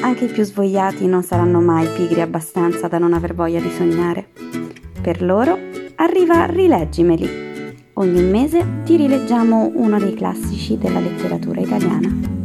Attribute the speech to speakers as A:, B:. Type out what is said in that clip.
A: Anche i più svogliati non saranno mai pigri abbastanza da non aver voglia di sognare. Per loro arriva Rileggimeli. Ogni mese ti rileggiamo uno dei classici della letteratura italiana.